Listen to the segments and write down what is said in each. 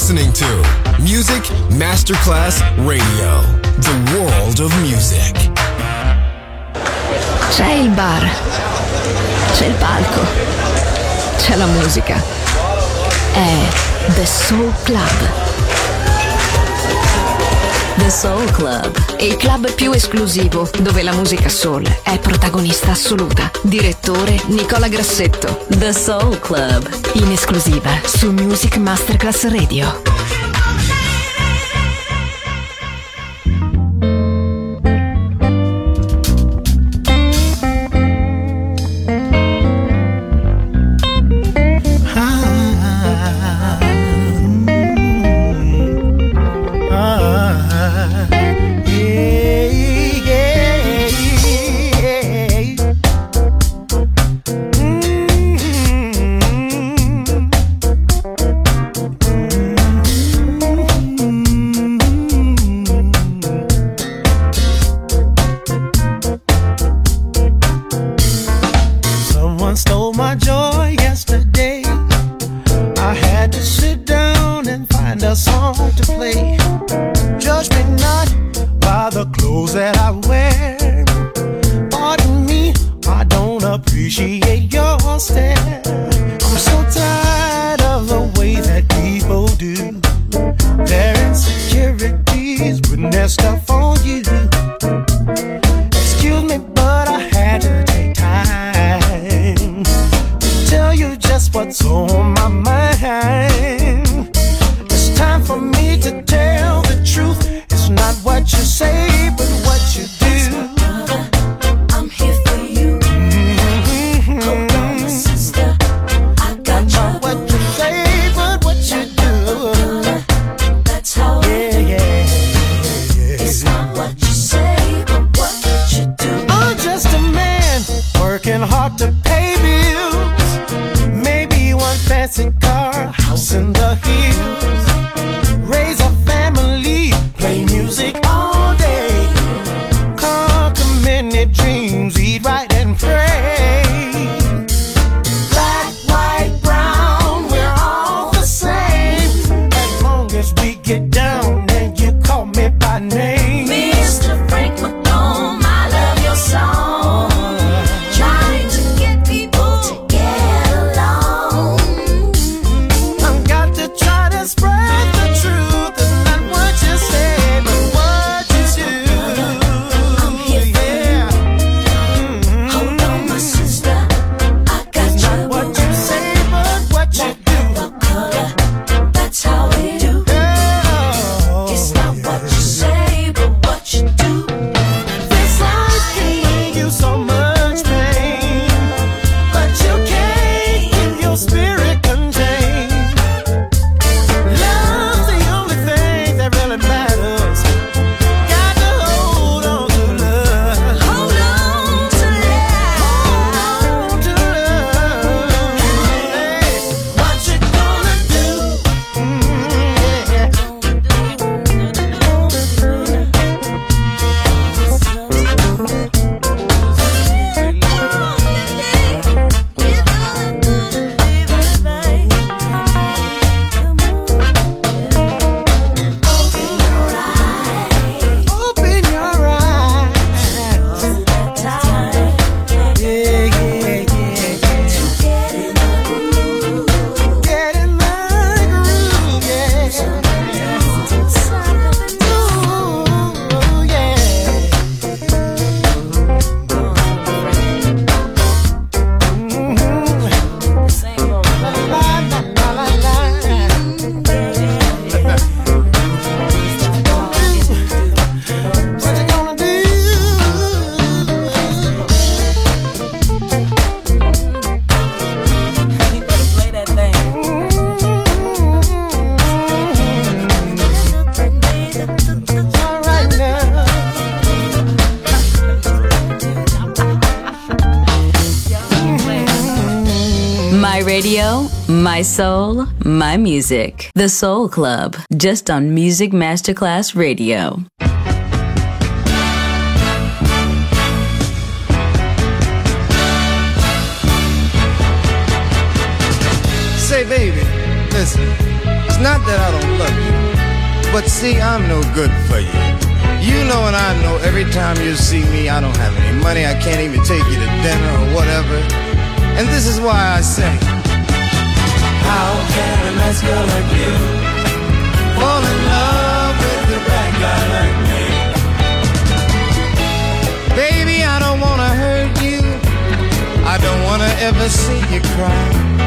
listening to Music Masterclass Radio, the world of music. C'è il bar, c'è il palco, c'è la musica. È The Soul Club. The Soul Club, il club più esclusivo dove la musica soul è protagonista assoluta. Direttore Nicola Grassetto. The Soul Club, in esclusiva su Music Masterclass Radio. Radio, my soul, my music. The Soul Club, just on Music Masterclass Radio. Say, baby, listen, it's not that I don't love you, but see, I'm no good for you. You know and I know every time you see me, I don't have any money, I can't even take you to dinner or whatever. And this is why I say, how can a nice girl like you fall in love with a bad guy like me? Baby, I don't wanna hurt you, I don't wanna ever see you cry.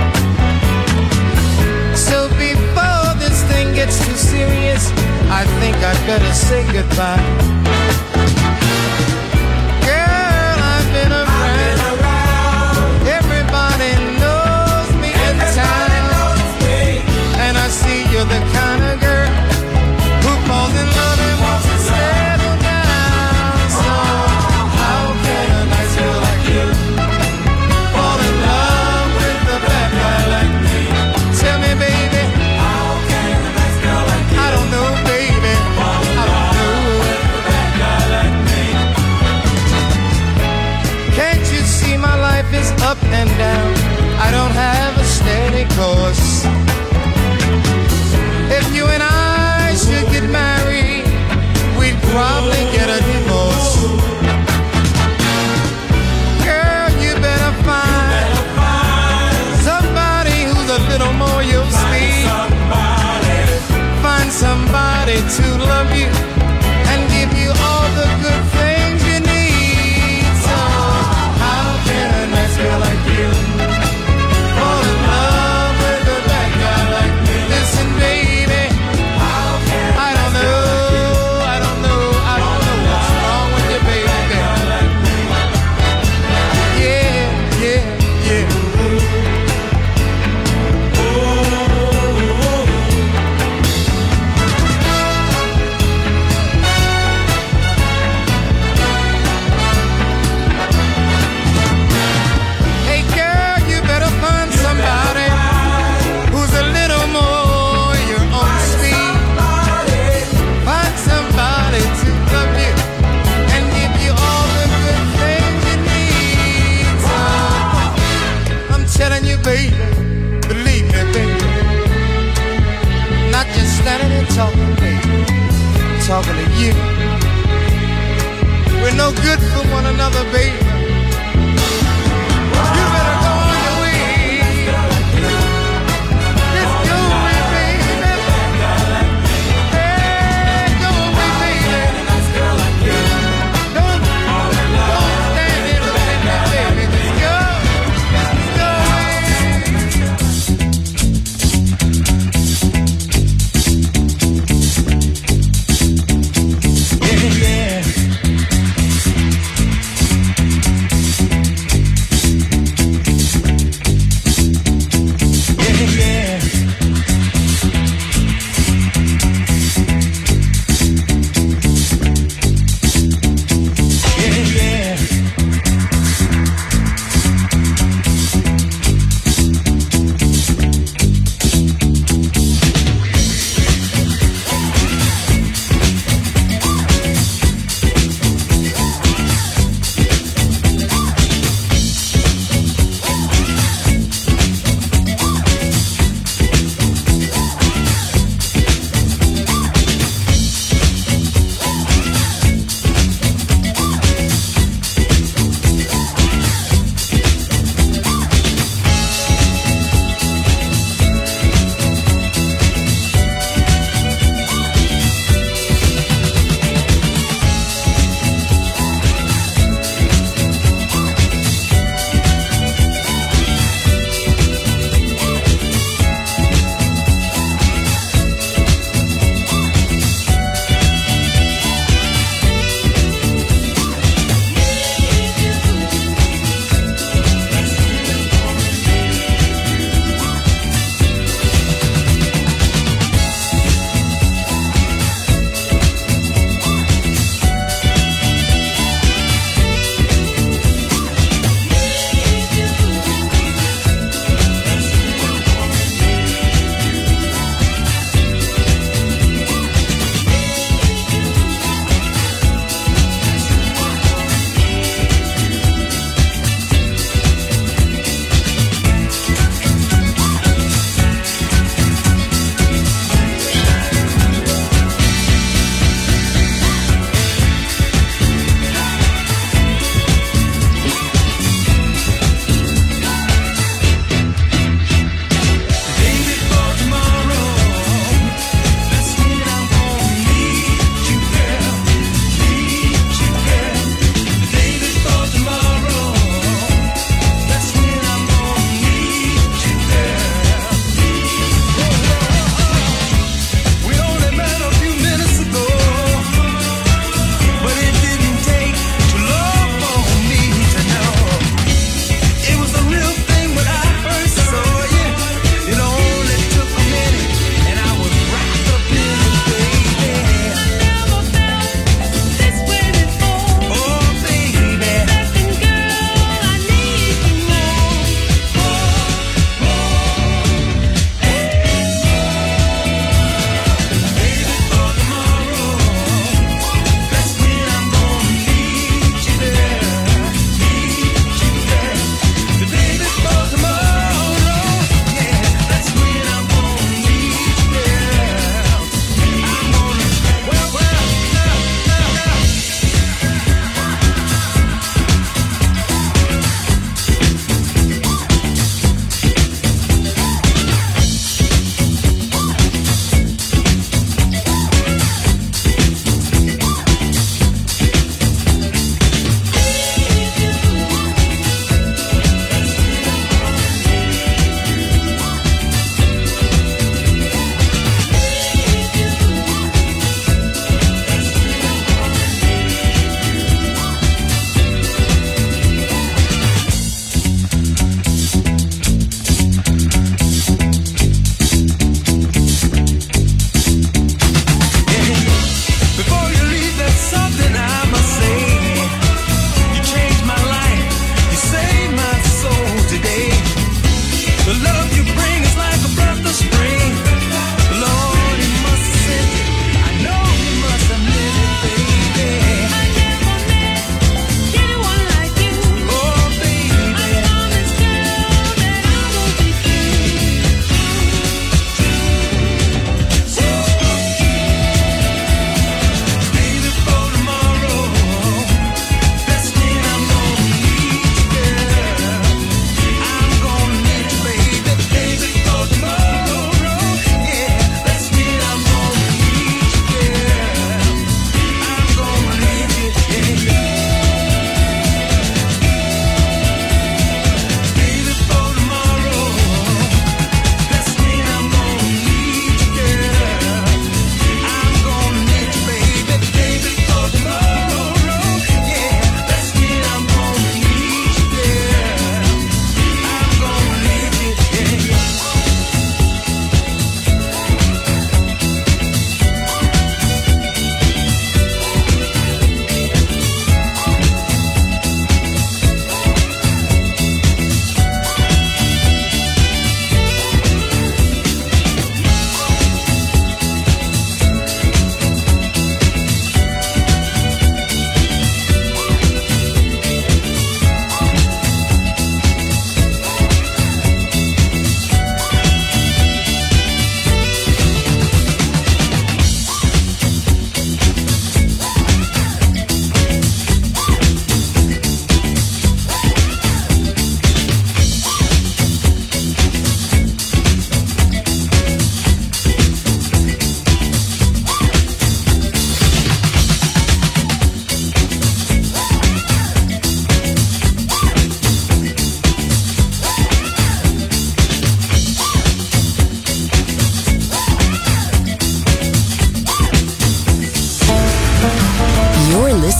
So before this thing gets too serious, I think I'd better say goodbye. Girl, I've been around. Everybody knows me in town. And I see you're the kind of girl who falls in love and wants to settle down. So how can a nice girl like you fall in love with a bad guy like me? Tell me, baby, how can a nice girl like you? I don't know, baby, I don't know. With a bad guy like me. Can't you see my life is up and down? I don't have a steady course. If you and I should get married, we'd probably get a divorce. Girl, you better find somebody who's a little more your speed. Find somebody to love you and give you all the good things you need. So how can a nice girl like you fall in love with a bad guy like me? Listen, baby, I don't know what's wrong with you, baby. Yeah, yeah, yeah. Hey girl, you better find somebody who's a little more your own speed. Find somebody to love you and give you all the good things you need. So, I'm telling you, baby, believe me, baby. Not just standing and talking, baby. I'm talking to you. We're no good for one another, baby. You better go on your way. Just go away, baby. Hey, go away, baby. Don't stand here looking at me, baby. Just go. Just go away. Yeah, yeah.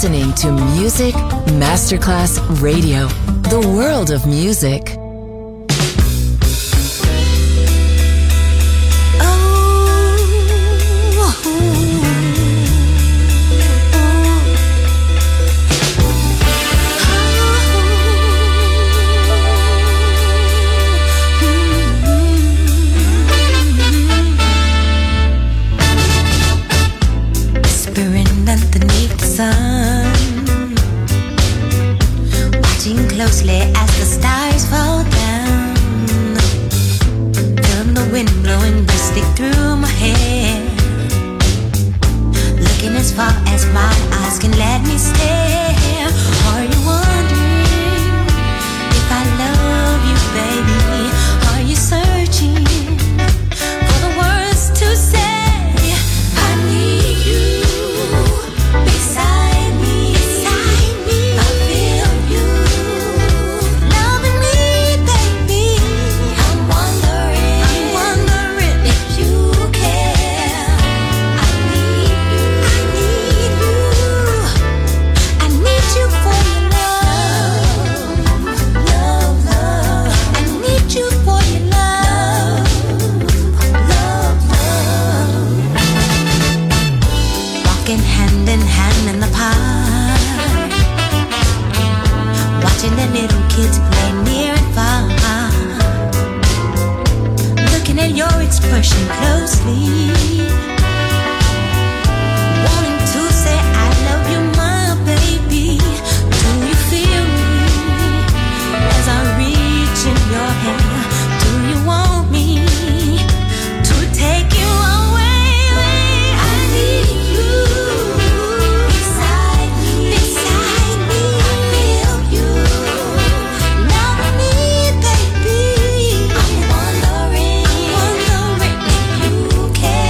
listening to Music Masterclass Radio, the world of music. Closely as the stars fall down, from the wind blowing briskly through my hair, looking as far as my eyes can let me stare. Are you wondering if I love you, baby? Are you searching for the words to say? I need you beside me, beside me. I feel you loving me, baby. I'm wondering if you care. I need you, I need you for your love, love, love. I need you for your love, love, love. Walking hand in hand in the park, watching the little kids play near and far, looking at your expression closely, wanting to say I love you, my baby. Do you feel me as I reach in your hand? Do you want me to take you away? I need you beside me, beside me. I feel you loving me, baby. I'm wondering if you care.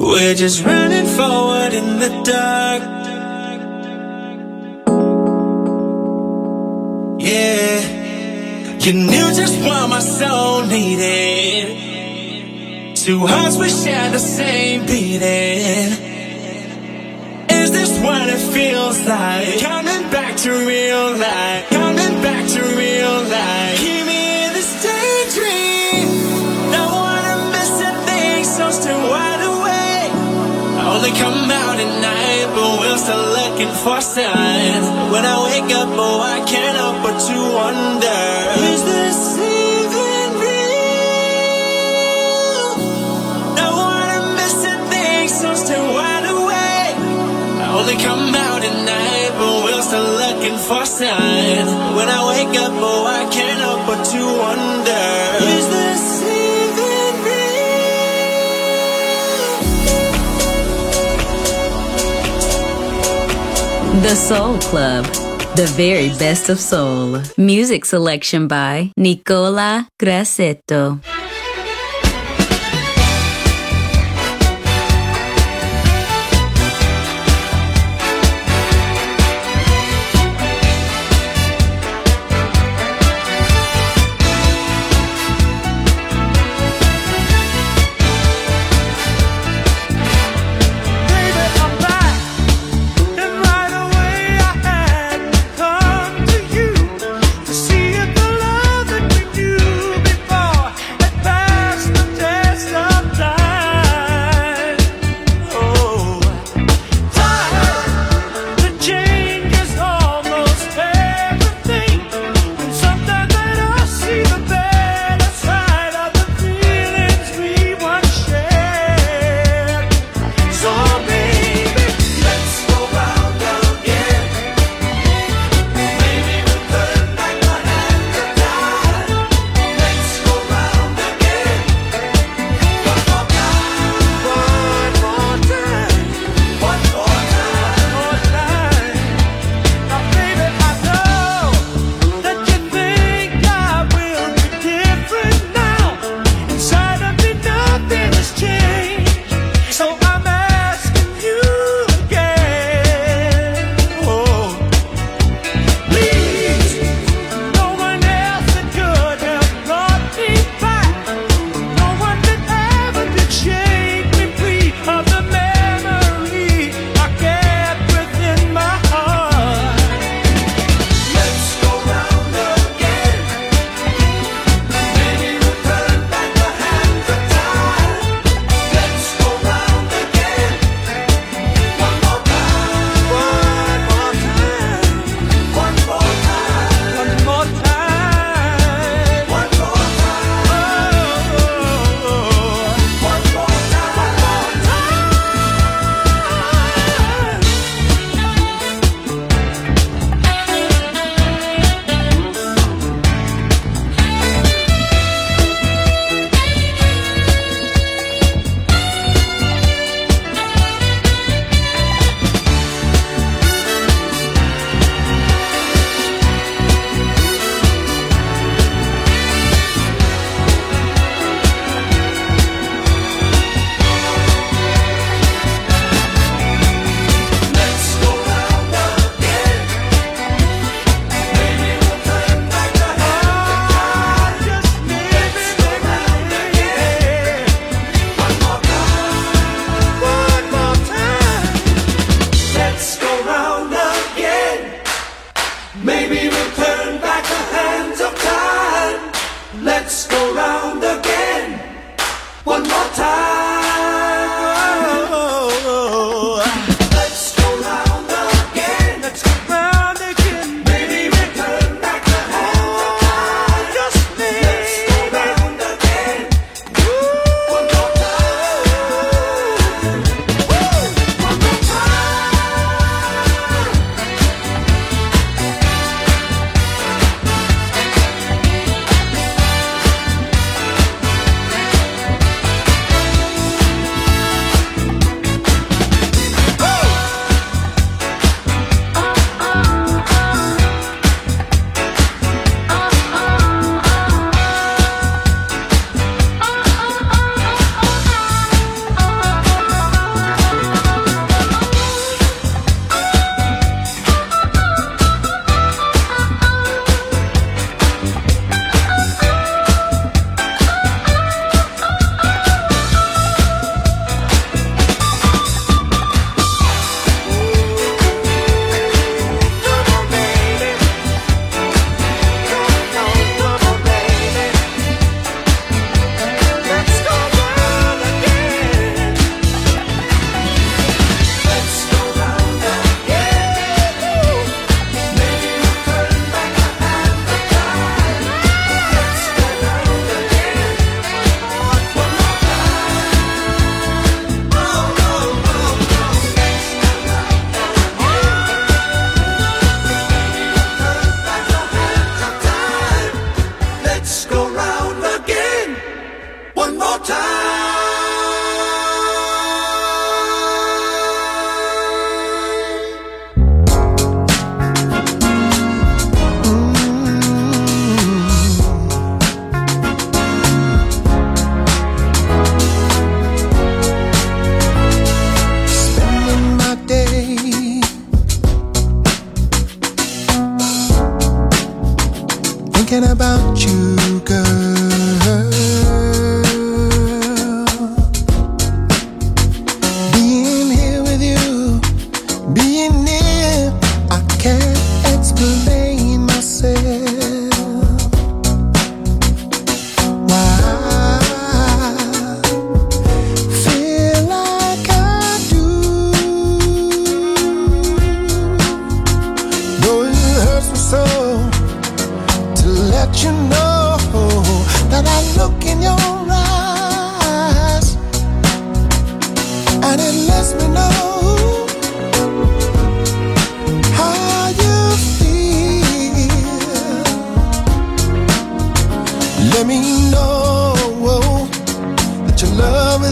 We're just running forward in the dark. Yeah, you knew just what my soul needed. Two hearts we share the same beating. Is this what it feels like? Coming back to real life. Coming back to real life. Keep me in this daydream. Don't wanna miss a thing, so stay wide awake. I only come out at night, but we're still looking for signs. When I wake up, oh, I can't help but to wonder, is this even real? Don't wanna miss a thing, so stay wide awake. I only come out at night, but we're still looking for signs. When I wake up, oh, I can't help but to wonder, is this even real? The Soul Club, the very best of soul. Music selection by Nicola Grassetto. See if the love that we knew before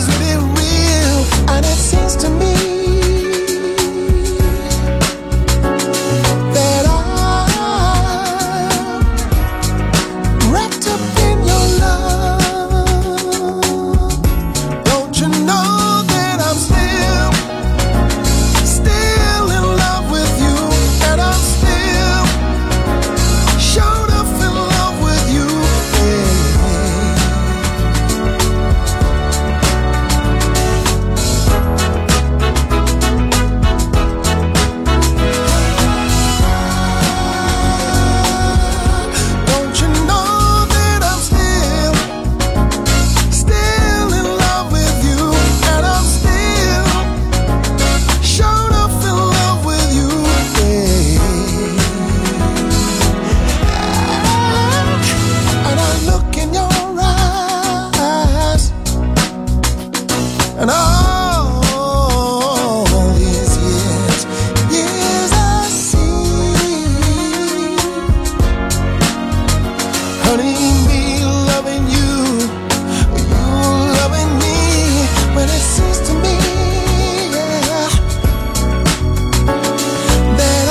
must be real, and it seems to me that I'm wrapped up in your love. Don't you know that I'm still in love with you, and I'm still showed up in love with you, Don't you know that I'm still in love with you, and I'm still showed up in love with you, and I look in your eyes, and all these years I see, honey, me loving you, you loving me, when it seems to me, yeah, that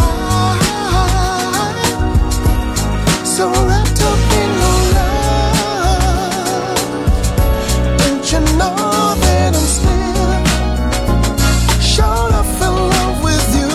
I'm so wrapped up in your love. Don't you know that I'm still showed up in love with you?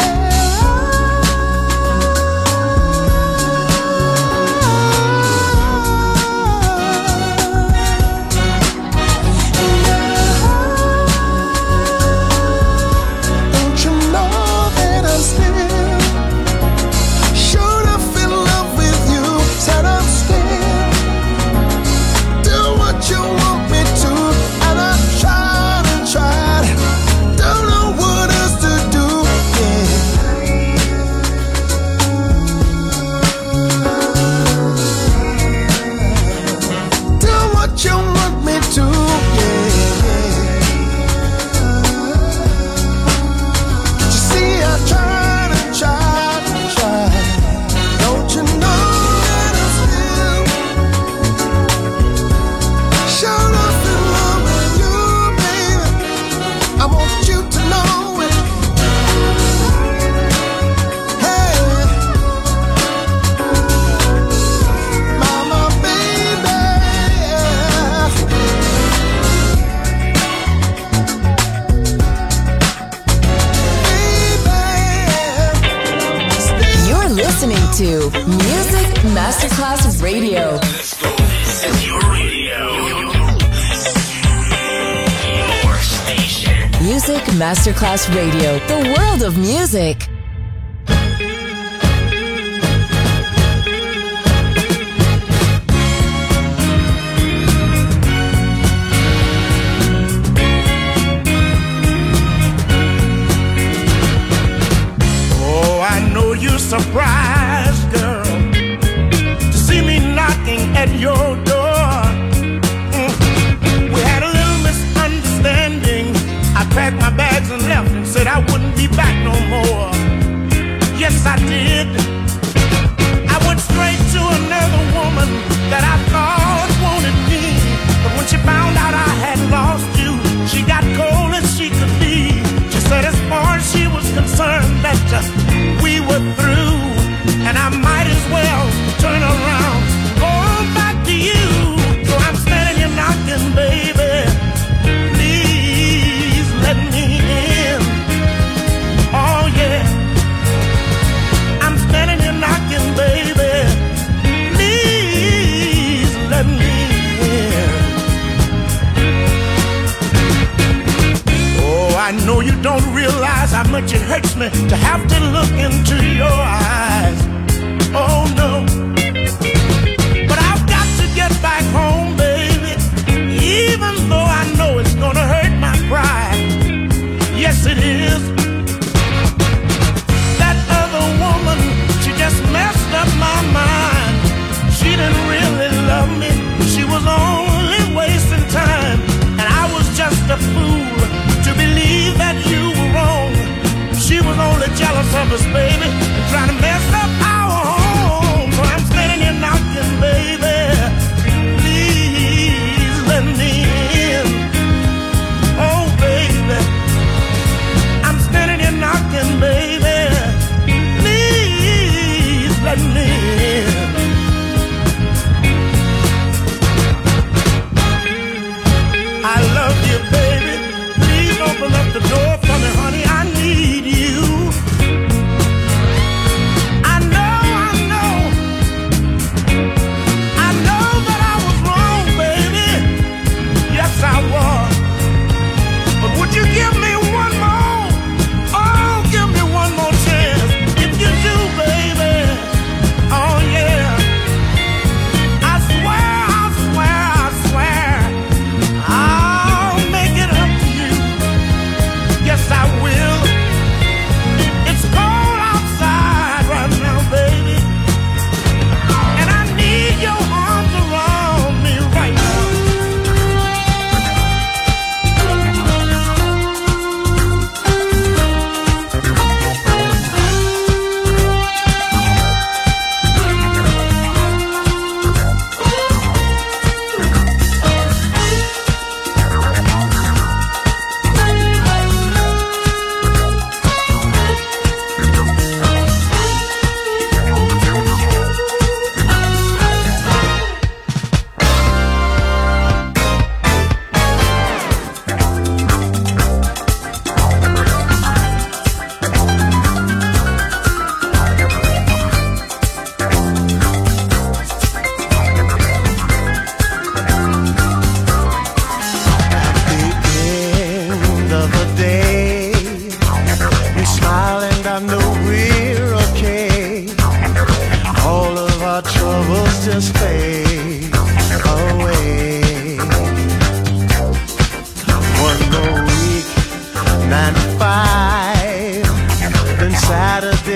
Don't you know that I'm still showed up in love with you? Said I'm still do what you want me to, and I tried and tried, don't know what else to do, yeah. Do what you want me to, yeah. You see, I tried and tried and tried. Don't you know that I'm still showed up in love with you, baby? I want you to know it. Hey, mama, baby, You're listening to Music Masterclass Radio. Music Masterclass Radio, the world of music. Oh, I know you're surprised, girl, to see me knocking at your door. We had a little misunderstanding. I packed my bags and left and said I wouldn't be back no more. Yes, I did. I went straight to another woman that I thought wanted me. But when she found out I had lost you, she got cold as she could be. She said as far as she was concerned that we were through, and I might as well turn around, go back to you. So I'm standing here knocking, baby. Please let me in. Oh yeah. I'm standing here knocking, baby. Please let me in. Oh, I know you don't realize how much it hurts me to have to look into your eyes. Oh no. But I've got to get back home, baby, even though I know it's gonna hurt my pride. Yes, it is. That other woman, she just messed up my mind. She didn't really love me. She was only wasting time, and I was just a fool to believe that you were wrong. She was only jealous of us, baby, and trying to mess up our home. So I'm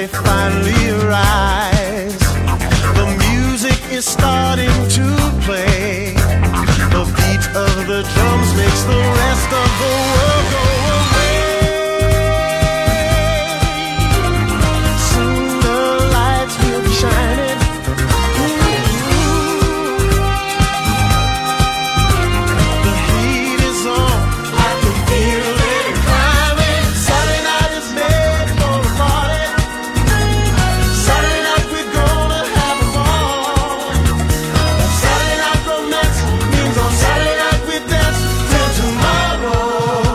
they finally rise. The music is starting to play. The beat of the drums makes the rest of the world go away. Soon the lights will be shining. The heat is on. I can feel it climbing. Saturday night is made for a party. Saturday night we're gonna have a ball. Saturday night romance means on Saturday night we dance till tomorrow.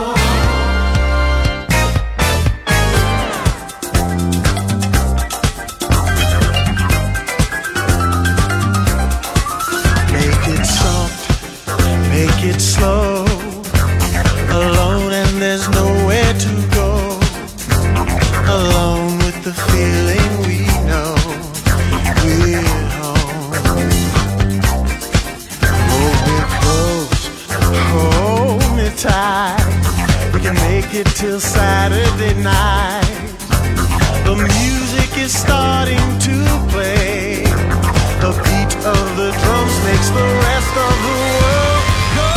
Make it soft, make it slow. Alone and there's nowhere to go. Alone with the feeling we know. We're home. Hold me close, hold me tight. We can make it till Saturday night. The music is starting to play. The beat of the drums makes the rest of the world go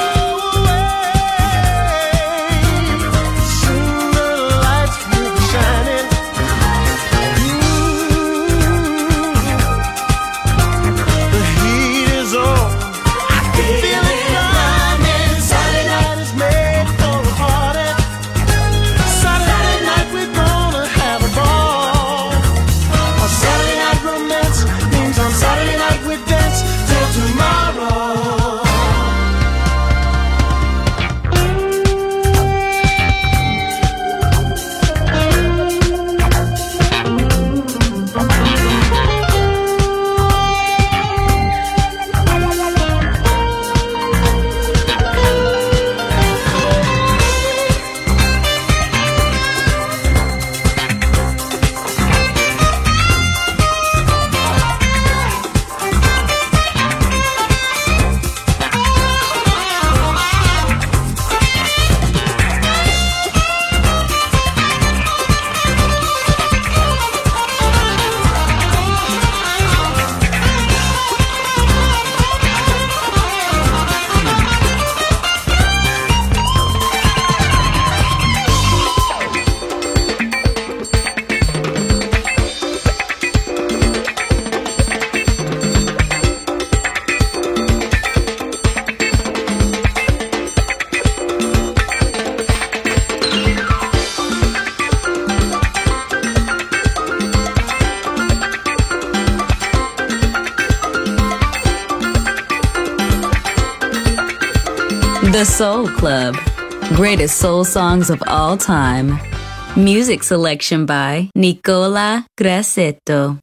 away. Soon the lights will be shining. The heat is on. I can feel it climbing. Saturday night is made for a party. Saturday night we're gonna have a ball. A Saturday night romance means on Saturday night we dance till tomorrow. The Soul Club. Greatest soul songs of all time. Music selection by Nicola Grassetto.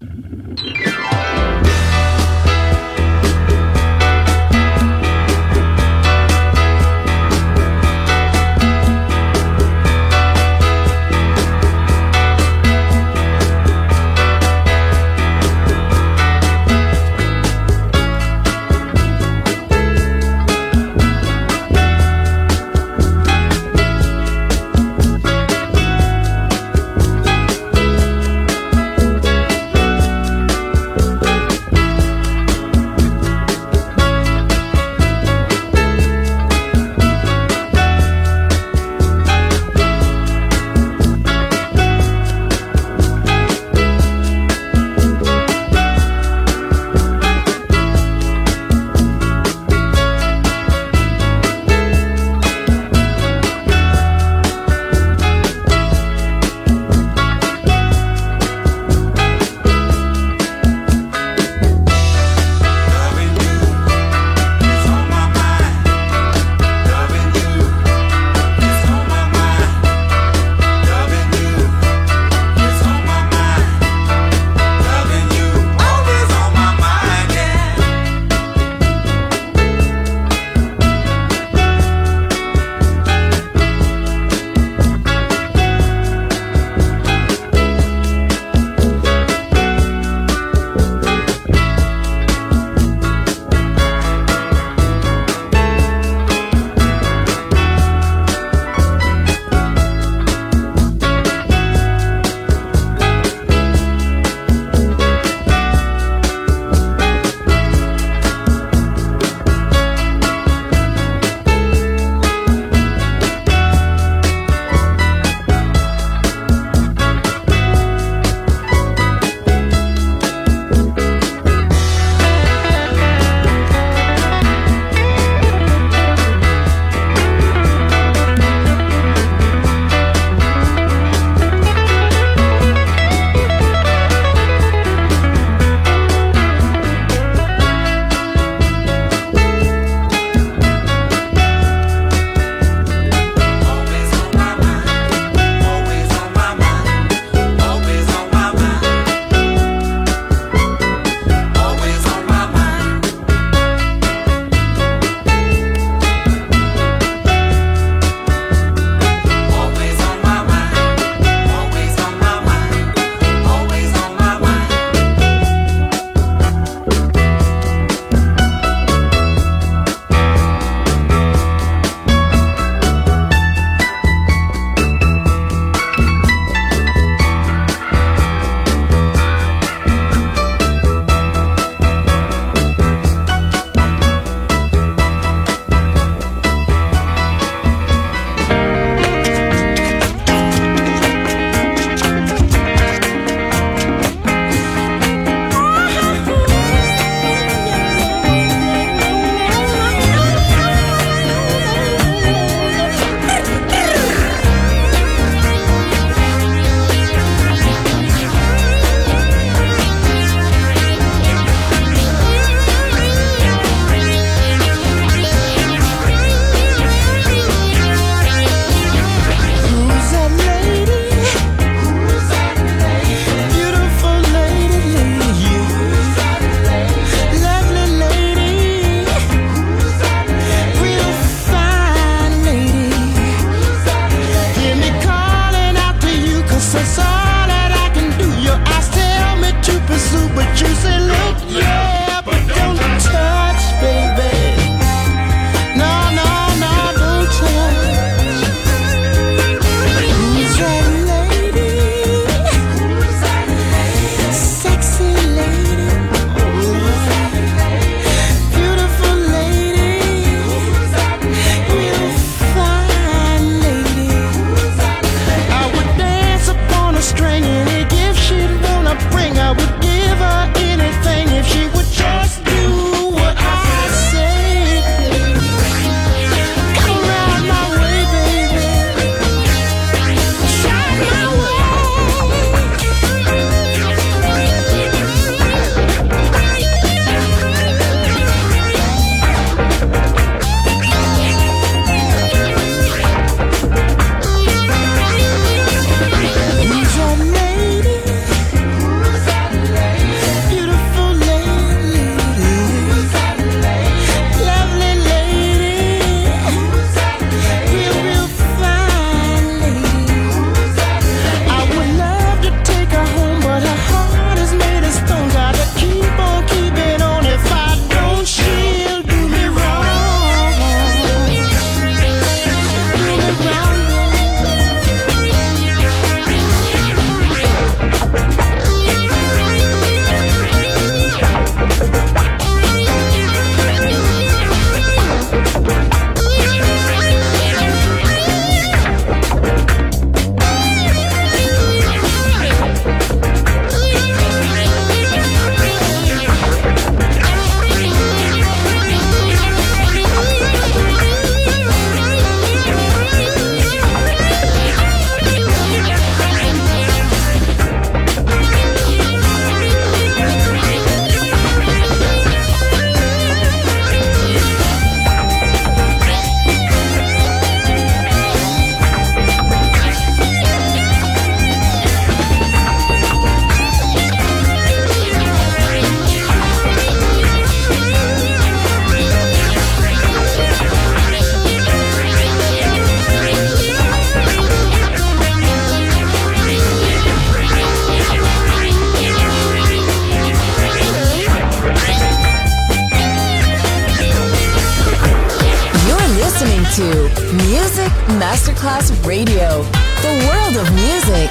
Masterclass Radio, the world of music.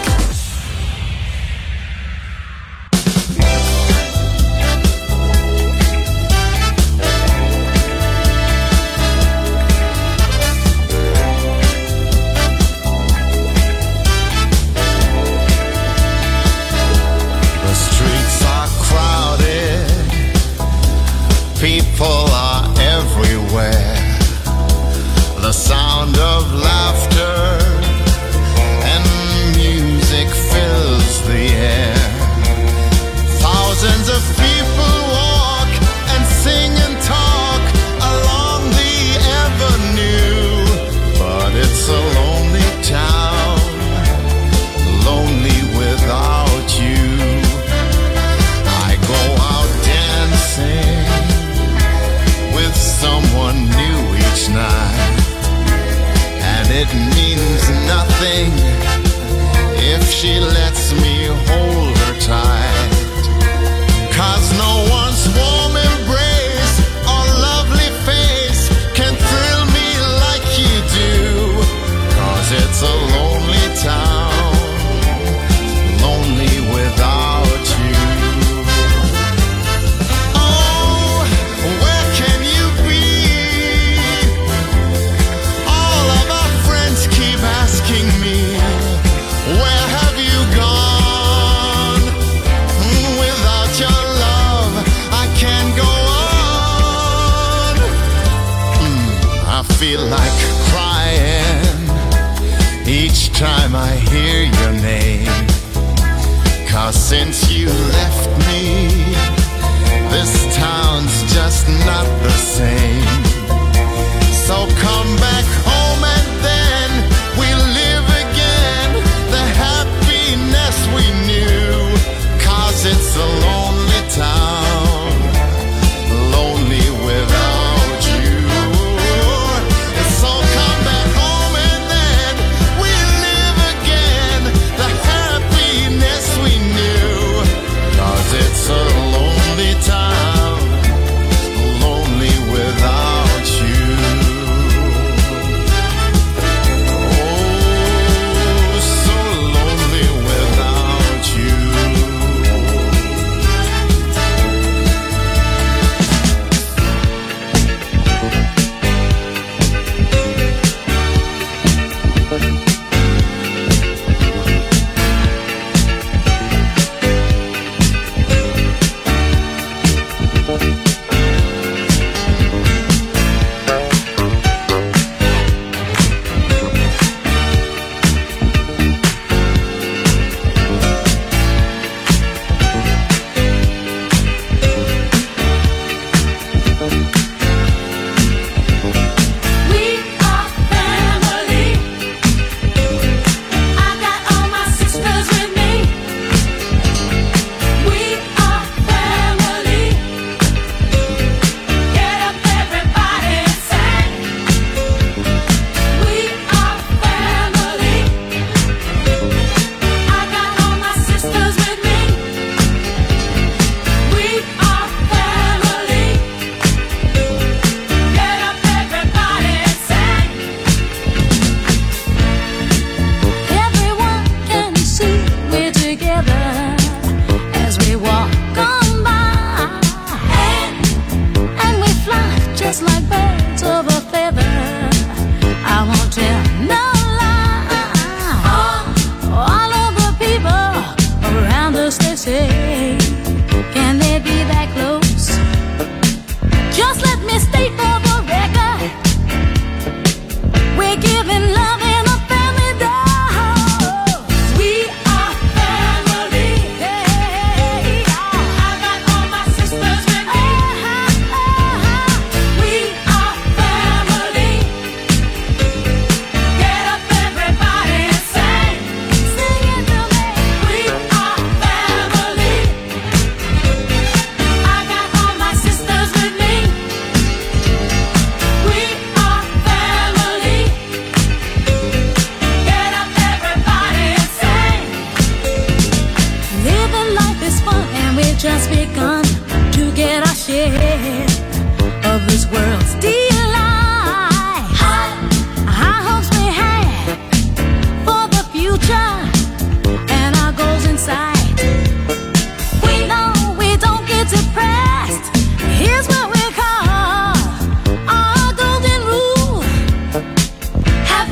People are everywhere. The sound of laughter and music fills the air. Thousands of people walk and sing and talk along the avenue. But it's a lonely town, lonely without you. I go out dancing with someone new each night, and it means nothing if she lets me hold her tight. 'Cause no one's warm embrace or lovely face can thrill me like you do. 'Cause it's a lonely town, lonely without you. Asking me, where have you gone? Without your love, I can't go on. I feel like crying each time I hear your name. 'Cause since you left me, this town's just not the same. So come back home and then we'll live again the happiness we knew. 'Cause it's a lonely town, lonely without you. So come back home and then we'll live again the happiness we knew. 'Cause it's a lonely town, lonely without you.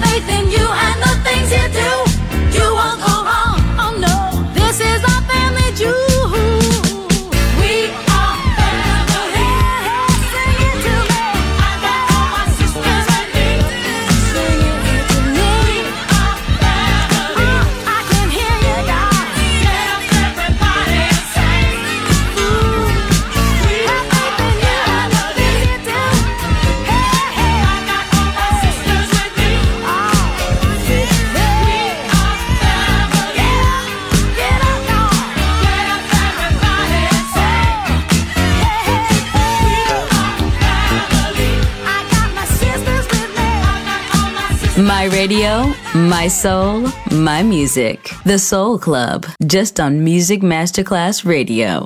faith in you and the things you do, you won't go wrong. Oh no, this is our family jewel. My radio, my soul, my music. The Soul Club, just on Music Masterclass Radio.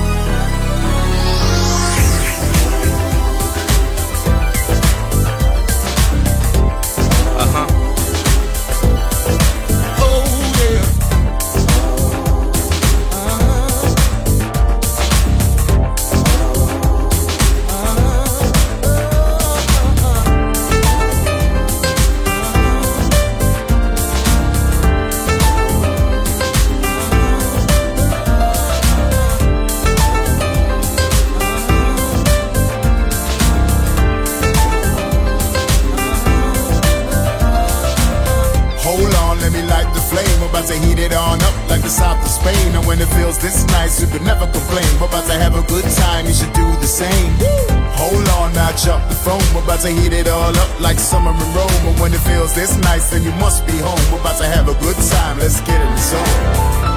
This nice, you could never complain. We're about to have a good time, you should do the same. Hold on, now jump the phone. We're about to heat it all up like summer in Rome. And when it feels this nice, then you must be home. We're about to have a good time, let's get in the zone.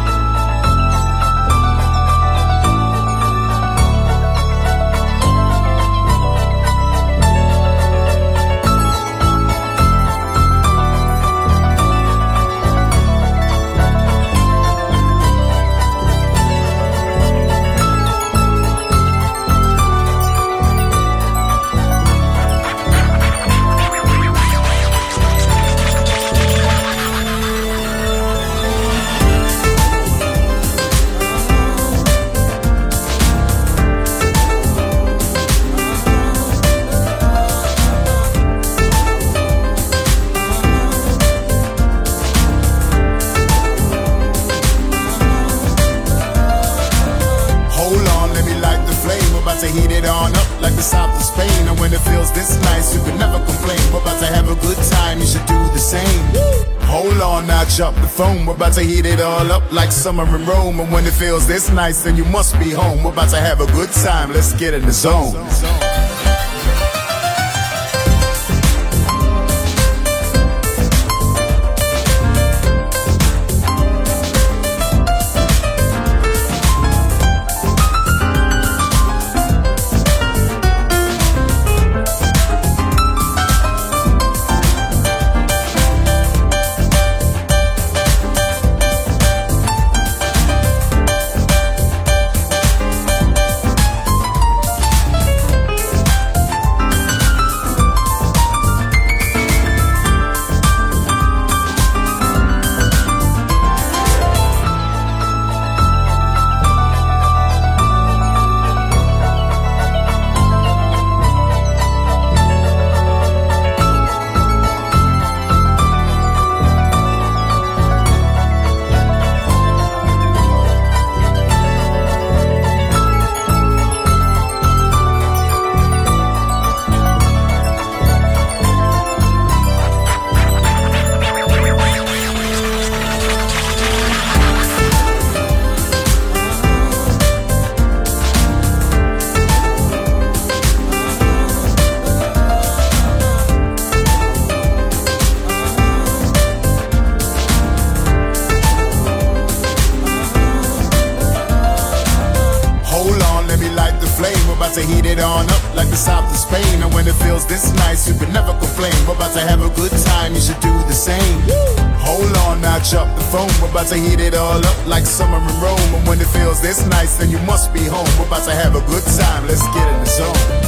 Up the phone, we're about to heat it all up like summer in Rome. And when it feels this nice, then you must be home. We're about to have a good time, let's get in the zone. To heat it on up like the south of Spain. And when it feels this nice, you can never complain. We're about to have a good time, you should do the same. Hold on, now jump the phone. We're about to heat it all up like summer in Rome. And when it feels this nice, then you must be home. We're about to have a good time, let's get in the zone.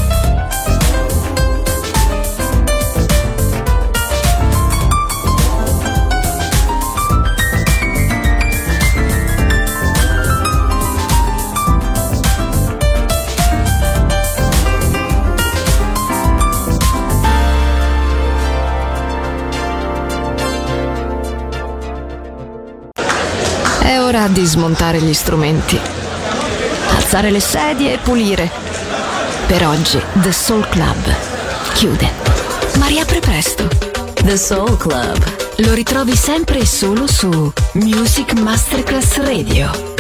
È ora di smontare gli strumenti, alzare le sedie e pulire. Per oggi The Soul Club chiude, ma riapre presto. The Soul Club. Lo ritrovi sempre e solo su Music Masterclass Radio.